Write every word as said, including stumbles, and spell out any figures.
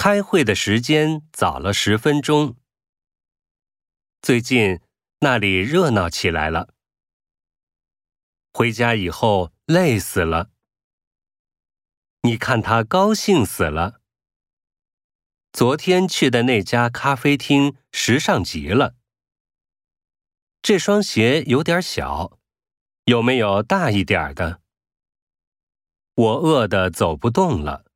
开会的时间早了十分钟。最近那里热闹起来了。回家以后累死了。你看他高兴死了。昨天去的那家咖啡厅时尚极了。这双鞋有点小，有没有大一点的？我饿得走不动了。